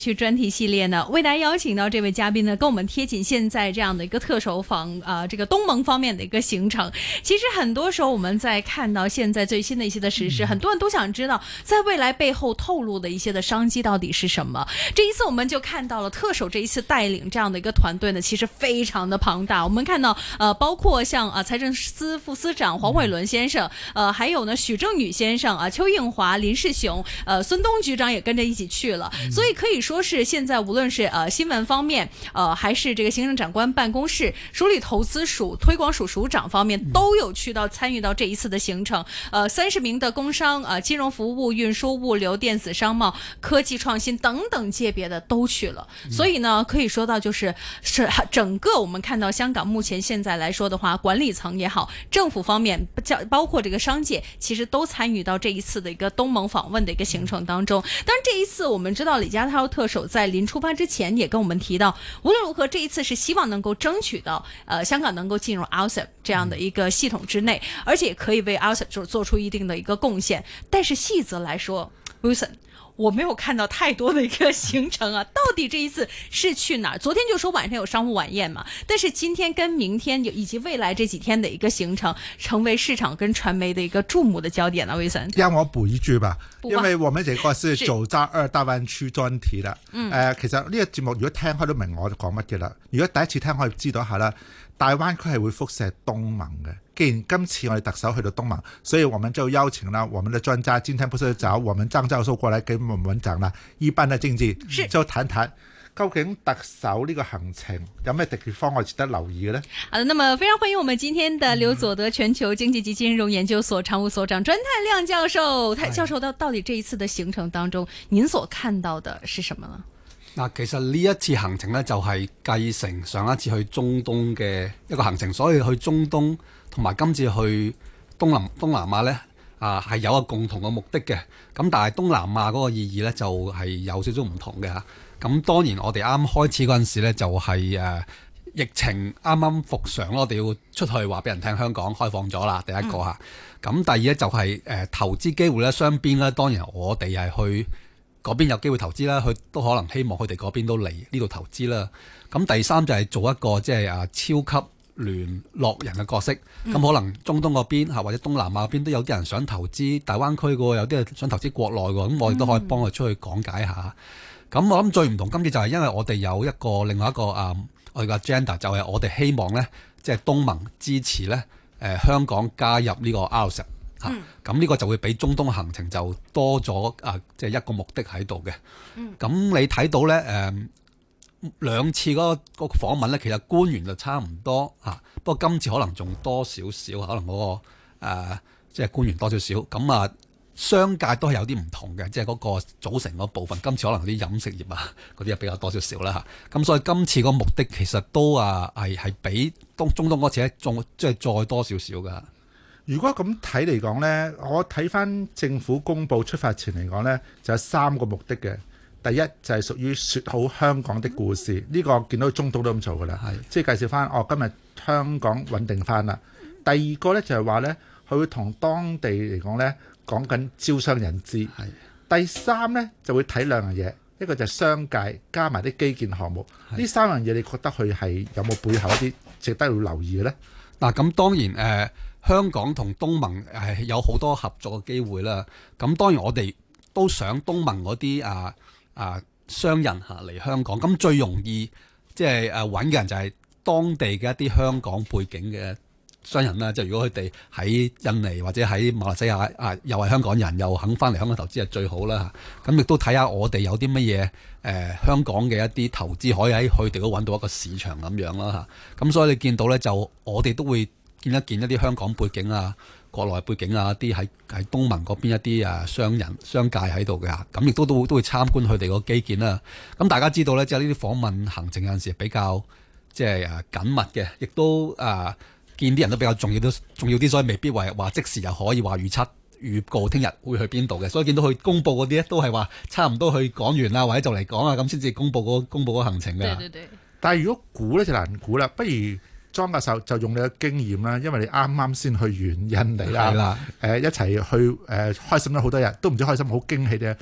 去專題系列呢，為大家邀請到這位嘉賓呢，跟我們貼緊現在這樣的一個特首訪這個東盟方面的一個行程。其實很多時候我們在看到現在最新的一些的時事，很多人都想知道在未來背後透露的一些的商機到底是什麼。這一次我們就看到了特首這一次帶領這樣的一個團隊呢，其實非常的龐大。我們看到包括像財政司副司長黃偉綸先生，還有呢許正宇先生邱應華、林世雄，孫東局長也跟着一起去了，所以可以說是現在無論是新聞方面，還是這個行政長官辦公室、署理投資署、推廣署署長方面都有去到參與到這一次的行程。30名的工商、金融服務、運輸、物流、電子商貿、科技創新等等界別的都去了。所以呢，可以說到就是整個我們看到香港目前現在來說的話，管理層也好，政府方面包括這個商界，其實都參與到這一次的一個東盟訪問的一個行程當中。當然這一次我們知道李家超特首在臨出發之前也跟我們提到，無論如何這一次是希望能夠爭取到香港能夠進入 RCEP 這樣的一個系統之內，而且可以為 RCEP 做出一定的一個貢獻。但是細則來說 Wilson， 我沒有看到太多的一個行程啊，到底這一次是去哪兒？昨天就說晚上有商務晚宴嘛，但是今天跟明天以及未來這幾天的一個行程，成為市場跟傳媒的一個注目的焦點啊。Wilson， 讓我補一句吧，因為我們這個是走在2大灣區專題啦。其實呢個節目如果聽開都明我講乜嘅啦。如果第一次聽可以知道一下啦，大灣區係會輻射東盟嘅。既然今次我哋特首去到東盟，所以我們就邀請了我們的專家，今天不是找我們張教授過來給我們講啦，一般的經濟就談談究竟特首呢個行程有咩地方我值得留意嘅呢？ 好的，那麼非常歡迎我們今天的劉佐德全球經濟及金融研究所常務所長專泰亮教授。教授到底這一次的行程當中，您所看到的是什麼呢？ 嗱，其實呢一次行程呢，就係繼承上一次去中東嘅一個行程，所以去中東同埋今次去東南亞呢，係有一個共同嘅目的嘅。咁但係東南亞嗰個意義呢，就係有少少唔同嘅嚇。咁當然我哋啱開始嗰陣時呢，就係疫情啱啱復常，我哋要出去話俾人聽香港開放咗啦，第一個嚇。咁第二呢，就係投資機會呢，雙邊呢，當然我哋係去嗰邊有機會投資啦，佢都可能希望佢哋嗰邊都嚟呢度投資啦。咁第三就係做一個即係超級聯絡人嘅角色。咁可能中東嗰邊或者東南亞嗰邊都有啲人想投資大灣區嘅，有啲人想投資國內嘅，咁我哋都可以幫佢出去講解下。咁我諗最唔同今次就係因為我哋有另外一個我哋嘅 agenda， 就係我哋希望呢，即係東盟支持呢香港加入呢個 RCEP。咁呢個就會比中東行程就多咗即係一個目的喺度嘅。咁你睇到呢兩次嗰個訪問呢，其實官員就差唔多不過今次可能仲多少少，可能嗰個即係官員多少少。咁商界都係有啲唔同嘅，即係嗰個組成嗰部分。今次可能啲飲食業嗰啲比較多少少啦。咁所以今次個目的其實都係比中東嗰次仲即係再多少少㗎。 如果咁睇嚟講呢，我睇翻政府公布出發前嚟講呢，就有3個目的嘅。第一就係屬於説好香港的故事，呢個見到中東都咁做㗎啦，即係介紹翻今日香港穩定翻啦。第二個呢，就係話呢，佢會同當地嚟講呢講緊招商引資。第三呢，就會睇2樣嘢，一個就係商界加埋啲基建項目。呢3樣嘢你覺得佢係有冇背後一啲值得要留意嘅呢？ 嗱，咁當然香港同東盟有好多合作嘅機會啦。咁當然我哋都想東盟嗰啲商人嚟香港。咁最容易即係揾嘅人就係當地嘅一啲香港背景嘅商人啦。即係如果佢哋喺印尼或者喺馬來西亞又係香港人，又肯翻嚟香港投資係最好啦。咁亦都睇下我哋有啲乜嘢香港嘅一啲投資可以喺佢哋都揾到一個市場咁樣啦。咁所以你見到呢，就我哋都會見一啲香港背景國內背景一啲喺東盟嗰邊一啲商人商界喺度嘅。咁亦都會參觀佢哋個基建啦。咁大家知道呢，即係呢啲訪問行程有陣時比較即係緊密嘅，亦都見啲人都比較重要啲，所以未必話即時又可以話預告聽日會去邊度嘅。所以見到佢公佈嗰啲都係話差唔多去講完啦，或者就嚟講咁先至公佈嗰行程嘅。 對。 但係如果估呢就難估啦，不如莊教授就用你嘅經驗啦，因為你啱啱先去完印尼啦，一齊去開心咗好多日，都唔知開心好驚喜嘅。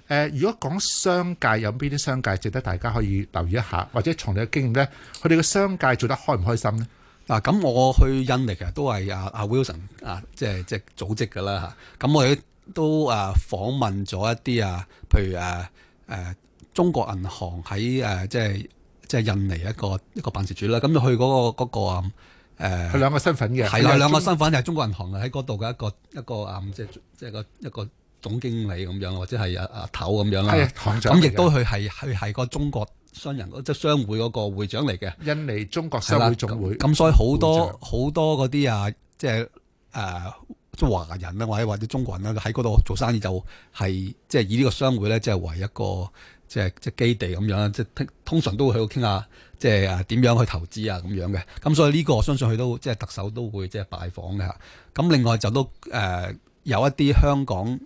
如果講商界有邊啲商界值得大家可以留意一下，或者從你嘅經驗咧，佢哋嘅商界做得開唔開心咧？ 嗱，咁我去印尼其實都係阿 Wilson 即係組織㗎啦嚇。咁我哋都訪問咗一啲譬如中國銀行喺即係印尼一個辦事處啦。咁就去嗰個佢兩個身份嘅， 係啦，兩個身份就係中國銀行喺嗰度嘅一個即係一個總經理咁樣，或者係阿頭咁樣啦。 係行長。 咁亦都佢係個中國商人即係商會嗰個會長嚟嘅。 印尼中國商會總會。 咁所以好多嗰啲即係華人啦，或者中國人啦，喺嗰度做生意就係即係以呢個商會咧，即係為一個即係基地咁樣，即係通常都會去度傾下，即係點樣去投資咁樣嘅。咁所以呢個我相信佢都即係特首都會即係拜訪嘅。咁另外就都有一啲香港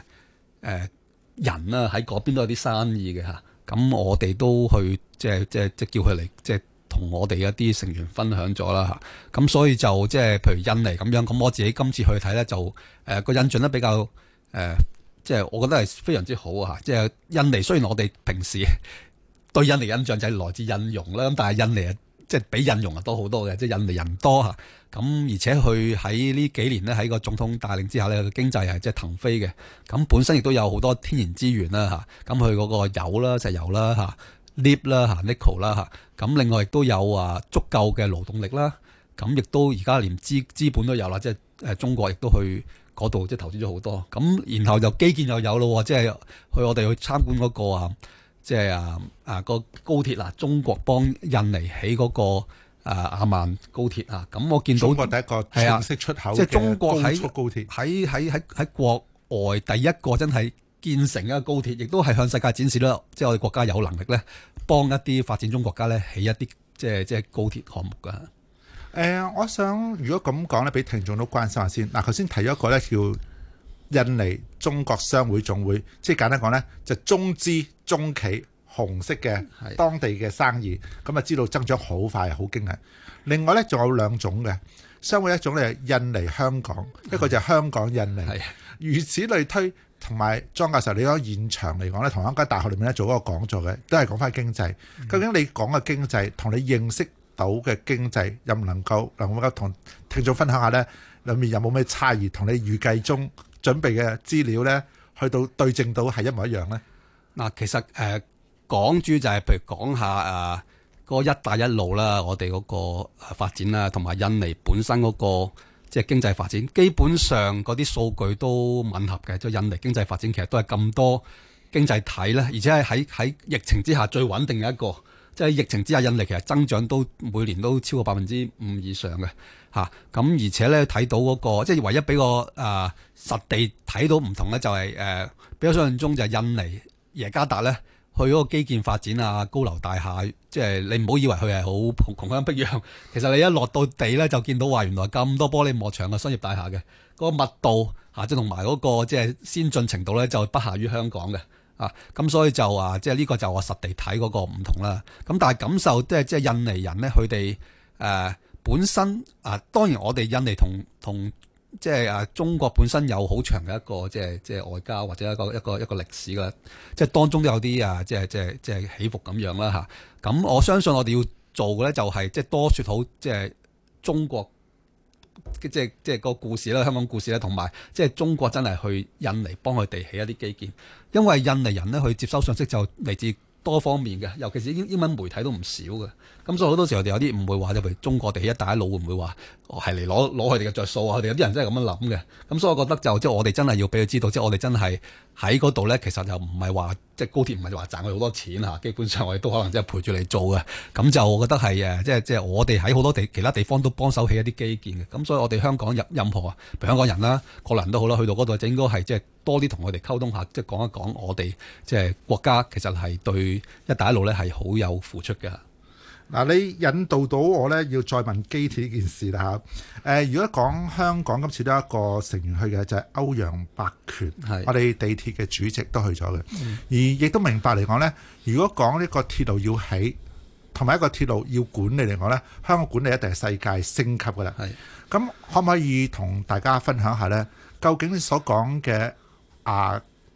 人啦喺嗰邊都有啲生意嘅嚇。咁我哋都去即係叫佢嚟即係同我哋一啲成員分享咗啦嚇。咁所以就即係譬如印尼咁樣，咁我自己今次去睇咧就個印象咧比較即係我覺得係非常之好啊！即係印尼雖然我哋平時對印尼印象就係來自印傭啦，咁但係印尼即係比印傭多好多嘅，即係印尼人多嚇。咁而且佢喺呢幾年呢，喺個總統帶領之下呢，個經濟係即係騰飛嘅。咁本身亦都有好多天然資源啦嚇。咁佢嗰個油啦、石油啦嚇、鎳啦嚇、nickel 啦嚇。咁另外亦都有足夠嘅勞動力啦。咁亦都而家連資本都有啦，即係中國亦都去嗰度即係投資咗好多，咁然後就基建又有咯，即係我哋去參觀嗰個即係個高鐵啦，中國幫印尼起嗰個亞萬高鐵啊，咁我見到中國第一個正式出口即係中國高速高鐵， 喺國外第一個真係建成一個高鐵，亦都係向世界展示啦，即係我哋國家有能力咧，幫一啲發展中國家咧起一啲即係高鐵項目噶。 我想如果咁講咧，俾聽眾都關心下先。嗱，頭先提咗一個咧叫印尼中國商會總會，即係簡單講咧，就中資中企紅色嘅當地嘅生意，咁啊知道增長好快，好驚人。另外咧仲有兩種嘅商會，一種咧係印尼香港，一個就係香港印尼。如此類推，同埋莊教授你喺現場嚟講咧，同一間大學裏面咧做嗰個講座嘅，都係講翻經濟。究竟你講嘅經濟同你認識到嘅經濟，又唔能夠同聽眾分享下呢？裏面有冇咩差異？同你預計中準備嘅資料呢，去到對證到係一模一樣呢？ 嗱，其實港珠就係譬如講下嗰一帶一路啦，我哋嗰個發展啦，同埋印尼本身嗰個即係經濟發展，基本上嗰啲數據都吻合嘅。即係印尼經濟發展其實都係咁多經濟體咧，而且係喺疫情之下最穩定嘅一個。即係疫情之下，印尼其實增長都每年都超過5%以上嘅嚇。咁而且咧睇到嗰個即係唯一俾個實地睇到唔同咧，就係比較想象中就係印尼耶加達咧去嗰個基建發展高樓大廈，即係你唔好以為佢係好窮鄉僻壤，其實你一落到地咧就見到話原來咁多玻璃幕牆嘅商業大廈嘅嗰個密度即係同埋嗰個即係先進程度咧就不下於香港嘅。咁所以就即係呢個就我實地睇嗰個唔同啦。咁但係感受即係印尼人咧，佢哋本身當然我哋印尼同即係中國本身有好長嘅一個即係外交或者一個歷史噶，即係當中都有啲即係起伏咁樣啦嚇。咁我相信我哋要做嘅咧就係即係多説好即係中國。即係個故事啦，香港故事啦，同埋即係中國真係去印尼幫佢哋起一啲基建，因為印尼人呢，佢接收信息就嚟自多方面嘅，尤其是英文媒體都唔少嘅。咁所以好多時候我哋有啲誤會話，譬如中國地起一帶一路會唔會話係嚟攞佢哋嘅着數啊？佢哋有啲人真係咁樣諗嘅。咁所以我覺得即係我哋真係要俾佢知道，即係我哋真係喺嗰度咧，其實就唔係話即係高鐵唔係話賺佢好多錢嚇，基本上我哋都可能即係陪住你做嘅。咁就我覺得係即係我哋喺好多其他地方都幫手起一啲基建嘅。咁所以我哋香港任何譬如香港人啦、國內人都好啦，去到嗰度就應該係即係多啲同佢哋溝通下，即係講一講我哋即係國家其實係對一帶一路咧係好有付出嘅。 嗱，你引導到我咧，要再問機鐵呢件事啦嚇。如果講香港今次都有一個成員去嘅，就係歐陽伯權，我哋地鐵嘅主席都去咗嘅。而亦都明白嚟講咧，如果講呢個鐵路要起，同埋一個鐵路要管理嚟講咧，香港管理一定係世界升級噶啦。咁可唔可以同大家分享下咧？究竟你所講嘅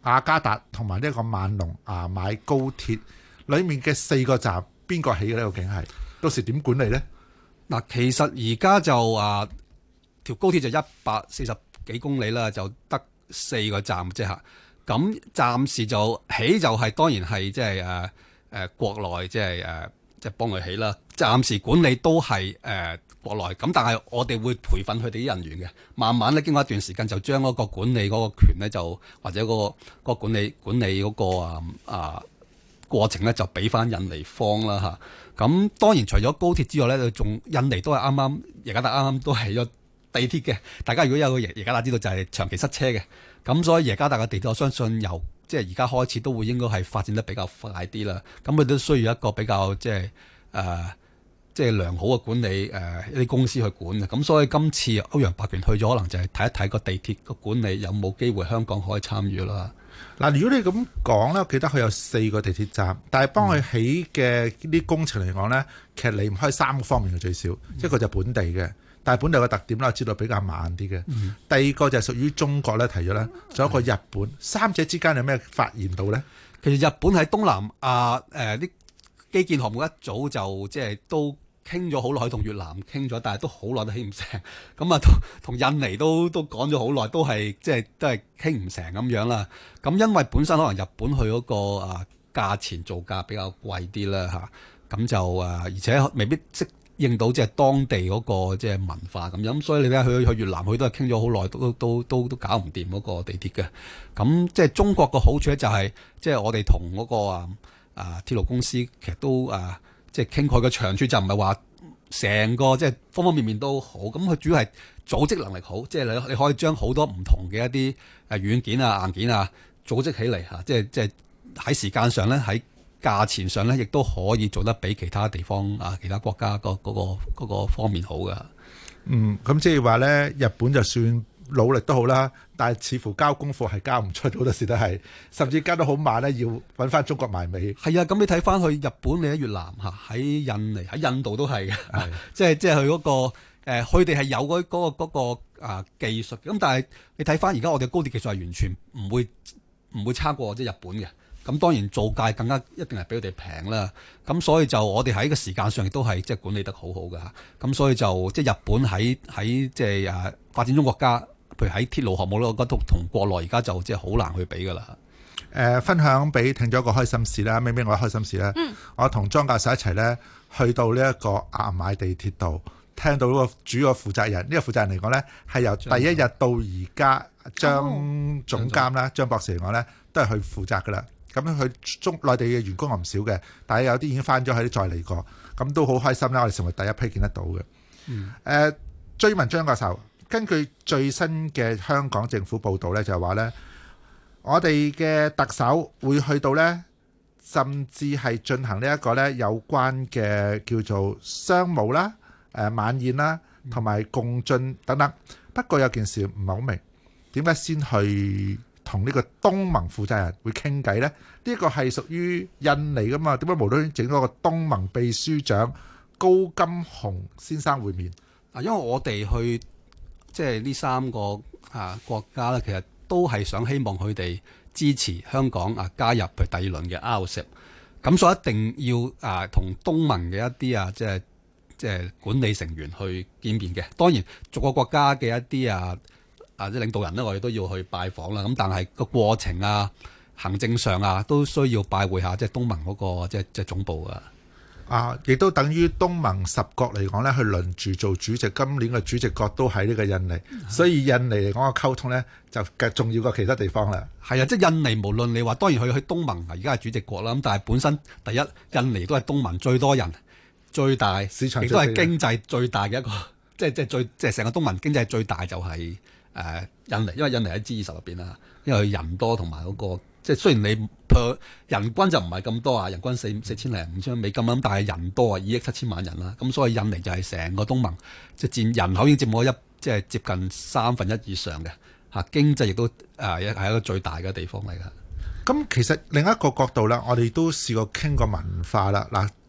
雅加達同埋呢個萬隆買高鐵裡面嘅4個站，邊個起嘅呢？究竟係到時點管理呢？ 嗱，其實而家就條高鐵就140幾公里啦，就得4個站啫嚇。咁暫時就起就係當然係即係國內即係幫佢起啦。暫時管理都係國內，咁但係我哋會培訓佢哋啲人員嘅，慢慢咧經過一段時間就將嗰個管理嗰個權咧就或者嗰個管理嗰個過程咧就俾翻印尼方啦嚇。咁當然除咗高鐵之外咧，仲印尼都係耶加達啱啱都係咗地鐵嘅。大家如果有個耶加達知道就係長期塞車嘅，咁所以耶加達嘅地鐵我相信由即係而家開始都會應該係發展得比較快啲啦。咁佢都需要一個比較即係良好嘅管理一啲公司去管嘅。咁所以今次歐陽伯權去咗，可能就係睇一睇個地鐵個管理有冇機會香港可以參與啦。 嗱，如果你咁講咧，我記得佢有4個地鐵站，但係幫佢起嘅啲工程嚟講咧，其實離唔開3個方面嘅最少，一個就本地嘅，但係本地嘅特點咧，我知道比較慢啲嘅。第二個就係屬於中國咧，提咗咧，仲有一個日本，三者之間有咩發現到咧？ 其實日本喺東南亞啲基建項目一早就即係都傾咗好耐，同越南傾咗，但係都好耐都起唔成。咁同印尼都講咗好耐，都係即係都係傾唔成咁樣啦。咁因為本身可能日本去嗰個價錢造價比較貴啲啦嚇，咁就而且未必適應到即係當地嗰個即係文化咁樣。所以你睇下去越南，佢都係傾咗好耐，都搞唔掂嗰個地鐵嘅。咁即係中國個好處咧，就係即係我哋同嗰個鐵路公司其實都即係傾佢嘅長處就唔係話成個即係方方面面都好，咁佢主要係組織能力好，即係你可以將好多唔同嘅一啲軟件硬件組織起嚟嚇，即係喺時間上咧，喺價錢上咧，亦都可以做得比其他地方其他國家嗰個方面好嘅。 咁即係話咧，日本就算努力都好啦，但係似乎交功課係交唔出，好多時都係，甚至交得好慢咧，要揾翻中國埋尾。係啊，咁你睇翻去日本，你喺越南喺印尼、喺印度都係嘅，即係佢嗰個佢哋係有嗰個技術，咁但係你睇翻而家我哋高鐵技術係完全唔會差過即係日本嘅。咁當然造價更加一定係比佢哋平啦。咁所以就我哋喺個時間上亦都係即係管理得好好嘅。咁所以就即係日本喺即係發展中國家。譬如喺鐵路項目咧，我覺得同國內而家就即係好難去比噶啦。 分享俾聽咗一個開心事啦，明明我開心事啦。我同莊教授一齊咧去到呢一個牙買地鐵度，聽到嗰個主要負責人。呢個負責人嚟講咧，係由第一日到而家，張總監啦，張博士嚟講咧，都係去負責噶啦。咁佢內地嘅員工又唔少嘅，但係有啲已經翻咗去，再嚟過，咁都好開心啦。我哋成為第一批見得到嘅。追問張教授。根據最新嘅香港政府報導咧，就係話咧，我哋嘅特首會去到咧，甚至係進行呢一個咧有關嘅叫做商務啦、晚宴啦，同埋共進等等。不過有件事唔係好明，點解先去同呢個東盟負責人會傾偈咧？呢個係屬於印尼噶嘛？點解無端端整咗個東盟秘書長高金洪先生會面？ 因為我哋去。即係呢3個國家咧，其實都係想希望佢哋支持香港加入佢第2輪嘅 RCEP，咁所以一定要同東盟嘅一啲即係管理成員去見面嘅。當然逐個國家嘅一啲即係領導人咧，我哋都要去拜訪啦。咁但係個過程行政上都需要拜會下即係東盟嗰個即係總部啊。 亦都等於東盟10國嚟講咧，去輪住做主席。今年嘅主席國都喺呢個印尼，所以印尼嚟講嘅溝通咧就更重要過其他地方啦。 係啊，即係印尼無論你話當然去東盟而家係主席國啦，咁但係本身第一印尼都係東盟最多人、最大市場，亦都係經濟最大嘅一個，即係成個東盟經濟最大就係印尼，因為印尼喺 G20 入邊啦，因為佢人多同埋嗰個。即係雖然你人均就唔係咁多人均4千零5千美金咁，但係人多2億7千萬人啦，咁所以印尼就係成個東盟即係佔人口已經佔咗即係接近1/3以上嘅經濟亦都係一個最大嘅地方嚟㗎。 咁其實另一個角度啦，我哋都試過傾過文化啦。嗱，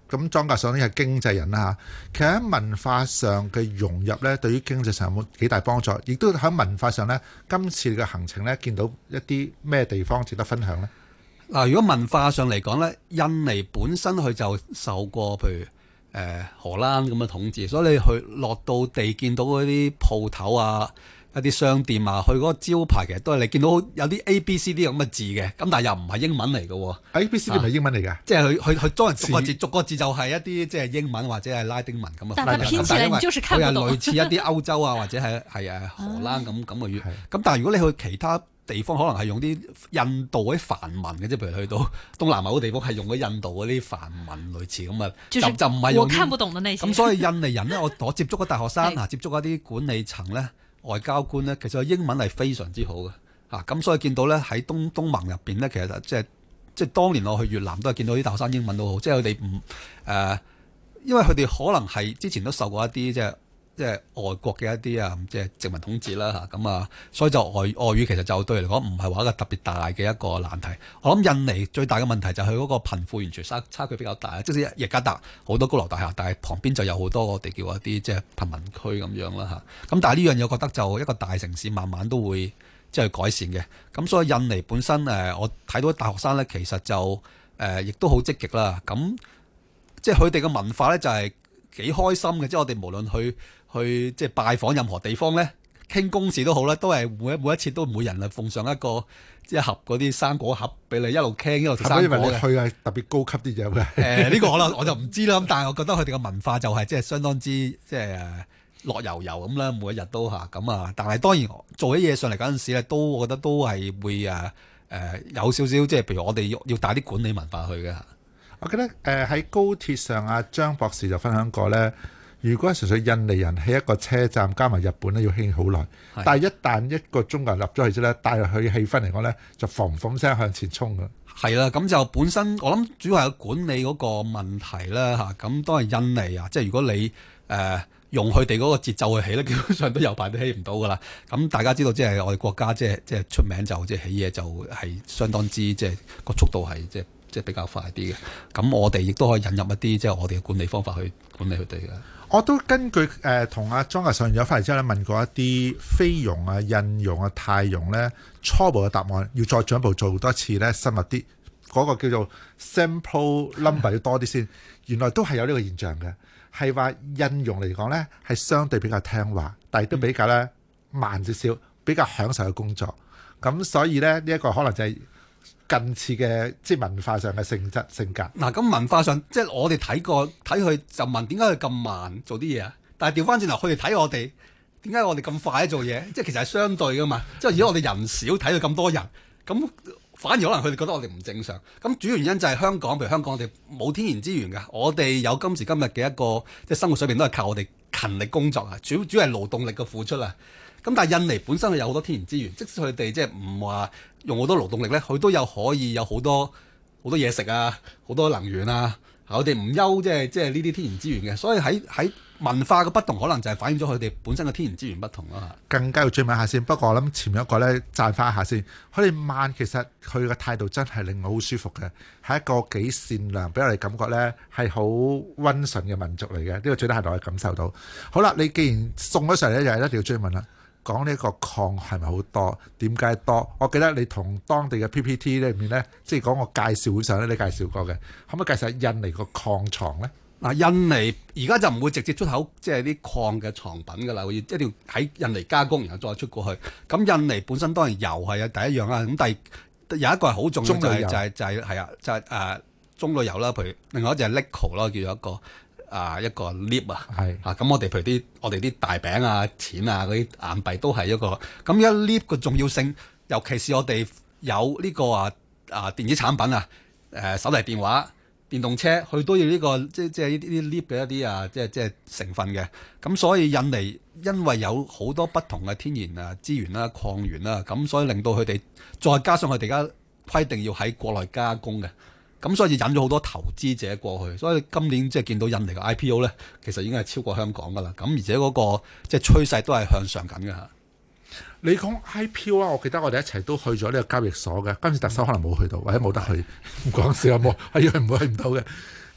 咁莊教授呢係經濟人啦，其實喺文化上嘅融入呢，對於經濟上有冇幾大幫助？亦都喺文化上呢，今次嘅行程呢，見到一啲咩地方值得分享呢？ 嗱，如果文化上嚟講呢，印尼本身佢就受過譬如荷蘭咁嘅統治，所以你去落到地見到嗰啲鋪頭啊、一啲商店啊，佢嗰個招牌其實都係你見到有啲 A、B、C、D 咁嘅字嘅，咁但係又唔係英文嚟嘅喎。 A、B、C、D 唔係英文嚟㗎， 即係佢當然逐個字就係一啲即係英文或者係拉丁文咁啊。 但係拼起來你就是看不懂。 佢係類似一啲歐洲啊或者係荷蘭咁嘅語。咁但係如果你去其他地方，可能係用啲印度嗰啲梵文嘅，即係譬如去到東南亞嗰啲地方係用咗印度嗰啲梵文類似咁啊，就唔係用。我看不懂的那些。咁所以印尼人呢，我接觸嘅大學生接觸一啲管理層咧、外交官咧，其實英文係非常之好嘅咁所以見到咧喺東盟入邊咧，其實即係當年我去越南都係見到啲大學生英文都好，即係佢哋唔因為佢哋可能係之前都受過一啲即係外國嘅一啲即係殖民統治啦所以就外語其實就對嚟講唔係話一個特別大嘅一個難題。我諗印尼最大嘅問題就係佢嗰個貧富完全差距比較大，即使雅加達好多高樓大廈，但係旁邊就有好多我哋叫一啲即係貧民區咁樣啦咁但係呢樣嘢我覺得就一個大城市慢慢都會即係改善嘅。咁所以印尼本身我睇到大學生咧，其實就亦都好積極啦。咁即係佢哋嘅文化咧就係幾開心嘅，即係我哋無論去即係拜訪任何地方咧，傾公事都好啦，都係每一次都每人奉上一個即係盒嗰啲生果盒俾你一路傾一路食生果嘅。係咪因為你去係特別高級啲嘢嘅？呢個我就唔知啦。咁但係我覺得佢哋嘅文化就係即係相當之即係樂悠悠咁啦，每一日都咁但係當然做起嘢上嚟嗰陣時咧，我覺得都係會有少少即係譬如我哋要帶啲管理文化去嘅。 我記得喺高鐵上張博士就分享過咧。如果純粹印尼人喺一個車站加埋日本咧，要興好耐。但係一旦一個中國人入咗去之後咧，帶入去氣氛嚟講咧，就嘭嘭聲向前衝㗎。 係啦，咁就本身我諗主要係管理嗰個問題啦咁當然印尼即係如果你用佢哋嗰個節奏去起咧，基本上都有排都起唔到噶啦。咁大家知道即係我哋國家即係出名就即係起嘢就係相當之即係個速度係即係比較快啲嘅。咁我哋亦都可以引入一啲即係我哋嘅管理方法去管理佢哋嘅。 我都根據同阿莊教授咗翻嚟之後咧，問過一啲菲傭啊、印傭泰傭咧，初步嘅答案要再進一步做多次咧，深入啲嗰個叫做 sample number 要多啲先。原來都係有呢個現象嘅，係話印傭嚟講咧係相對比較聽話，但係都比較咧慢少少，比較享受嘅工作。咁所以咧呢一個可能就係近似嘅即係文化上嘅性格。 嗱，咁文化上即係我哋睇佢就問點解佢咁慢做啲嘢啊？但係調翻轉頭，佢哋睇我哋點解我哋咁快做嘢？即係其實係相對噶嘛。即係如果我哋人少睇到咁多人，咁反而可能佢哋覺得我哋唔正常。咁主要原因就係香港，譬如香港我哋冇天然資源㗎，我哋有今時今日嘅一個即係生活水平都係靠我哋勤力工作啊。主要係勞動力嘅付出啊。咁但係印尼本身係有好多天然資源，即使佢哋即係唔話用好多勞動力咧，佢都可以有好多嘢食啊，好多能源啊。我哋唔憂即係呢啲天然資源嘅，所以喺文化嘅不同，可能就係反映咗佢哋本身嘅天然資源不同啦。 更加要追問下先。不過我諗前面一個咧讚翻一下先，佢哋慢其實佢嘅態度真係令我好舒服嘅，係一個幾善良，俾我哋感覺咧係好溫順嘅民族嚟嘅。呢個最低限度我感受到。好啦，你既然送咗上嚟咧，就係一定要追問啦。講呢個礦係咪好多？點解多？我記得你同當地嘅 PPT 裏面咧，即係講個介紹會上咧，你介紹過嘅，可唔可以介紹下印尼個礦床咧？ 嗱，印尼而家就唔會直接出口即係啲礦嘅藏品㗎啦，會一定要喺印尼加工，然後再出過去。咁印尼本身當然油係第一樣啦，咁但係有一個係好重要嘅就係棕櫚油啦，譬如另外一隻係 Nickel 啦，叫做一個 lip 啊，咁我哋譬如我哋啲大餅啊、錢啊嗰啲硬幣都係一個咁一 lip 嘅重要性，尤其是我哋有呢個電子產品手提電話、電動車，佢都要呢個即係呢啲 lip 嘅一啲即係成分嘅。咁所以印尼因為有好多不同嘅天然資源啦、礦源啦，咁所以令到佢哋再加上佢哋而家規定要喺國內加工嘅。咁所以引咗好多投資者過去，所以今年即係見到印尼嘅 IPO 咧，其實已經係超過香港噶啦。咁而且嗰個即係趨勢都係向上緊嘅嚇。 你講 IPO 啊，我記得我哋一齊都去咗呢個交易所嘅。今次特首可能冇去到，或者冇得去，唔講笑啊，冇係去唔到嘅。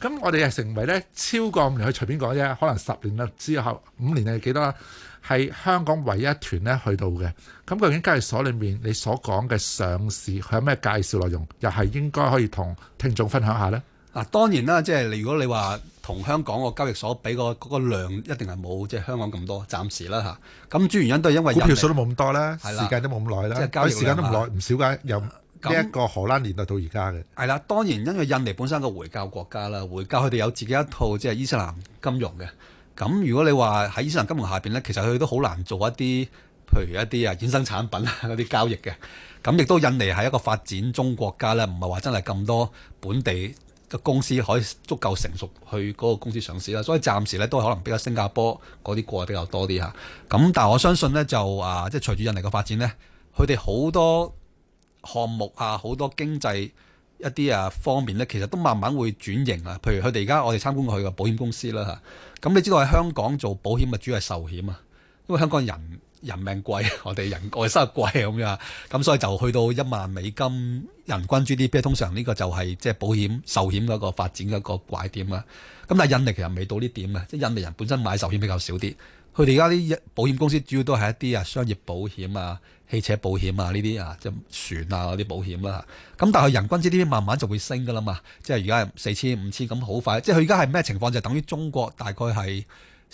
咁我哋係成為咧超過5年，去隨便講啫，可能10年啦之後5年係幾多？係香港唯一一團咧去到嘅。咁究竟交易所裏面你所講嘅上市，佢有咩介紹內容，又係應該可以同聽眾分享下呢？ 嗱，當然啦，即係如果你話同香港個交易所比嗰個量，一定係冇即係香港咁多，暫時啦嚇。咁主要原因都係因為股票數都冇咁多啦， 係啦時間都冇咁耐啦， 即係交易時間都唔耐唔少㗎，由呢一個荷蘭年代到而家嘅。 係啦，當然因為印尼本身係個回教國家啦，回教佢哋有自己一套即係伊斯蘭金融嘅。咁如果你話喺伊斯蘭金融下邊咧，其實佢都好難做一啲，譬如一啲衍生產品啊嗰啲交易嘅。咁亦都印尼係一個發展中國家咧，唔係話真係咁多本地嘅公司可以足夠成熟去嗰個公司上市啦。所以暫時咧都係可能比較新加坡嗰啲過得比較多啲嚇。咁但係我相信咧就即係隨住印尼嘅發展咧，佢哋好多項目啊，好多經濟一啲方面咧，其實都慢慢會轉型啊。譬如佢哋而家我哋參觀過佢嘅保險公司啦嚇。咁你知道喺香港做保險咪主要係壽險啊，因為香港人命貴，我哋收入貴咁樣，咁所以就去到1萬美金人均 GDP， 通常呢個就係即係保險壽險嗰個發展嘅一個拐點啦。咁但係印尼其實未到呢點啊，即係印尼人本身買壽險比較少啲，佢哋而家啲保險公司主要都係一啲商業保險啊、汽車保險啊呢啲即係船啊嗰啲保險啦。咁但係佢人均 GDP 慢慢就會升噶啦嘛，即係而家係4000、5000咁好快。即係佢而家係咩情況？就等於中國大概係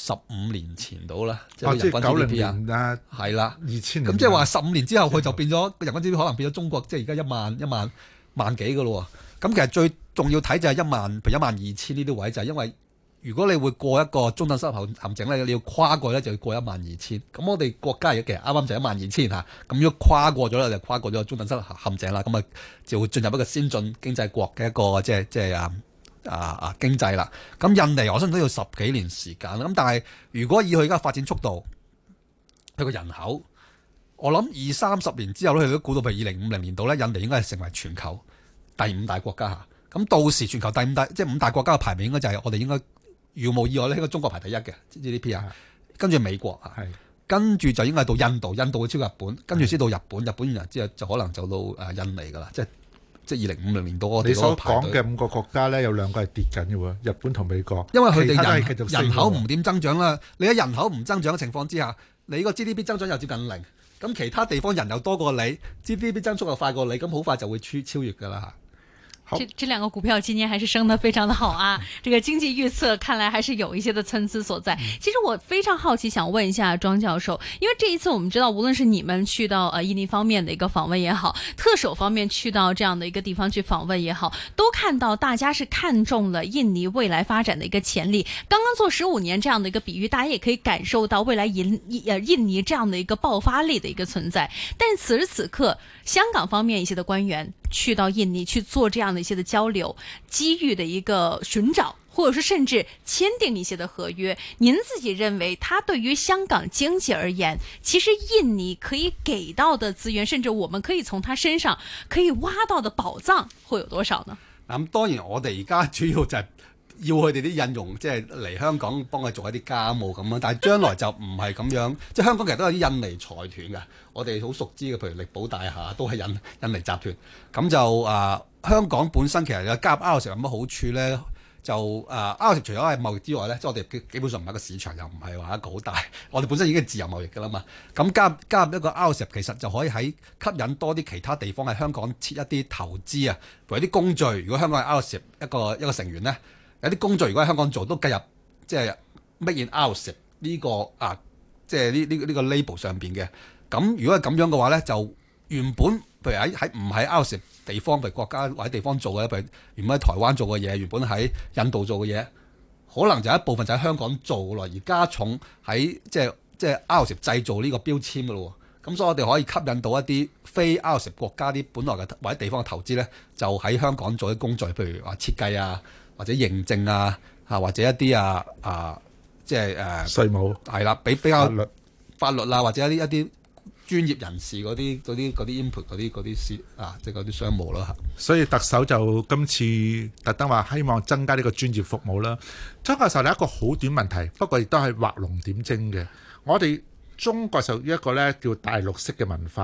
15年前到啦，即係人均 GDP 啊，係啦，2000年。咁即係話15年之後，佢就變咗人均 GDP 可能變咗中國，即係而家1萬幾嘅咯。咁其實最重要睇就係譬如12000呢啲位，就係因為如果你會過一個中等收入陷阱咧，你要跨過咧就要過12000。咁我哋國家而家其實啱啱就12000嚇，咁如果跨過咗咧就跨過咗中等收入陷阱啦，咁就會進入一個先進經濟國嘅一個即係經濟啦。咁印尼我相信都要10幾年時間啦。咁但係如果以佢而家發展速度，佢個人口，我諗20-30年之後咧，佢都估到譬如2050年度咧，印尼應該係成為全球第5大國家嚇。咁到時全球第5大即係5大國家嘅排名應該就係我哋應該如無意外咧，應該中國排第1嘅 GDP 啊，跟住美國啊，跟住就應該係到印度，印度會超過日本，跟住先到日本，日本然之後就可能就到印尼噶啦，即係2050年到我哋嗰個排隊。你所講嘅5個國家咧，有2個係跌緊嘅喎，日本同美國，因為佢哋人口唔點增長啦。你喺人口唔增長嘅情況之下，你個 GDP 增長又接近0，咁其他地方人又多過你 ，GDP 增速又快過你，咁好快就會超越噶啦。 這2個股票今年還是升得非常的好啊！這個經濟預測看來還是有一些的參差所在。其實我非常好奇，想問一下莊教授，因為這一次我們知道，無論是你們去到印尼方面的一個訪問也好，特首方面去到這樣的一個地方去訪問也好，都看到大家是看中了印尼未來發展的一個潛力。剛剛做15年這樣的一個比喻，大家也可以感受到未來印尼這樣的一個爆發力的一個存在。但此時此刻，香港方面一些的官員去到印尼去做這樣的一些的交流，機遇的一個尋找，或者說甚至簽訂一些的合約，您自己認為，它對於香港經濟而言，其實印尼可以給到的資源，甚至我們可以從它身上可以挖到的寶藏，會有多少呢？ 咁當然，我哋而家主要就係要佢哋啲印傭，即係嚟香港幫佢做一啲家務咁樣，但係將來就唔係咁樣，即係香港其實都有啲印尼財團嘅，我哋好熟知嘅，譬如力寶大廈都係印尼集團，咁就香港本身其實有加入 RCEP 有乜好處咧？就RCEP 除咗係貿易之外咧，即係我哋基本上唔係一個市場，又唔係話一個好大，我哋本身已經係自由貿易㗎啦嘛。咁加入一個 RCEP 其實就可以喺吸引多啲其他地方喺香港設一啲投資啊，譬如啲工序。如果香港係 RCEP 一個成員咧，有啲工序如果喺香港做都計入即係 Made in RCEP 呢個即係呢個 label 上邊嘅。咁如果係咁樣嘅話咧，就原本譬如喺唔喺 RCEP 地方，譬如國家或者地方做嘅，譬如原本喺台灣做嘅嘢，原本喺印度做嘅嘢，可能就一部分就喺香港做落，而加重喺即係 RCEP 製造呢個標籤嘅咯。咁所以我哋可以吸引到一啲非 RCEP 國家啲本來嘅或者地方嘅投資咧，就喺香港做啲工序，譬如話設計啊，或者認證啊，或者一啲即係稅務係啦，比較法律啊，或者一啲專業人士嗰啲 input 嗰啲即係嗰啲商務啦。 所以特首就今次特登話希望增加呢個專業服務啦。莊教授，你一個好短問題，不過亦都係畫龍點睛嘅。我哋中國就一個咧叫大陸式嘅文化，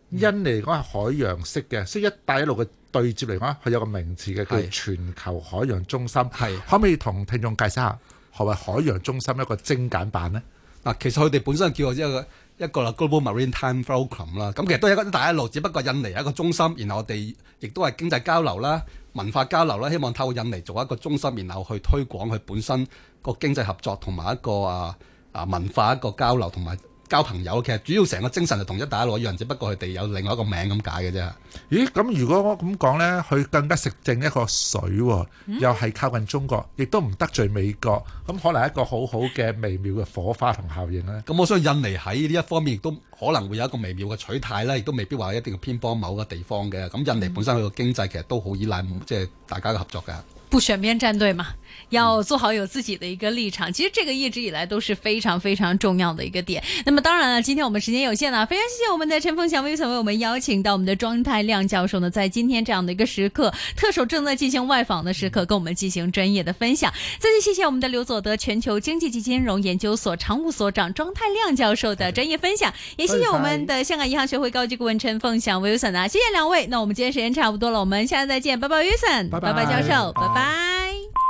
印尼嚟講係海洋式嘅，所以一帶一路嘅對接嚟講，佢有個名詞嘅叫全球海洋中心。可唔可以同聽眾介紹下何謂海洋中心一個精簡版呢？ 嗱，其實佢哋本身叫做一個 Global Maritime Forum 啦，咁其實都係一個大一路，只不過印尼係一個中心，然後我哋亦都係經濟交流啦、文化交流啦，希望透過印尼做一個中心，然後去推廣佢本身個經濟合作同埋一個文化一個交流同埋交朋友。其實主要成個精神就同一帶一路一樣，只不過佢哋有另外一個名咁解嘅啫。 咦，咁如果我咁講呢，佢更加食正一個水，又係靠近中國，亦都唔得罪美國，咁可能係一個好好嘅微妙嘅火花同效應呢。 咁我相信印尼喺呢一方面亦都可能會有一個微妙嘅取態啦，亦都未必話一定要偏幫某個地方嘅。咁印尼本身佢個經濟其實都好依賴即係大家嘅合作嘅。 不選邊站隊嘛，要做好有自己的一個立場。其實這個一直以來都是非常非常重要的一個點。那麼當然了，今天我們時間有限了，非常謝謝我們的陳鳳翔 Wilson 為我們邀請到我們的莊太量教授呢，在今天這樣的一個時刻，特首正在進行外訪的時刻，跟我們進行專業的分享。再次謝謝我們的劉佐德全球經濟及金融研究所常務所長莊太量教授的專業分享，也謝謝我們的香港銀行學會高級顧問陳鳳翔 Wilson 啊，謝謝兩位。那我們今天時間差不多了，我們下次再見，拜拜 Wilson，拜拜教授，拜拜。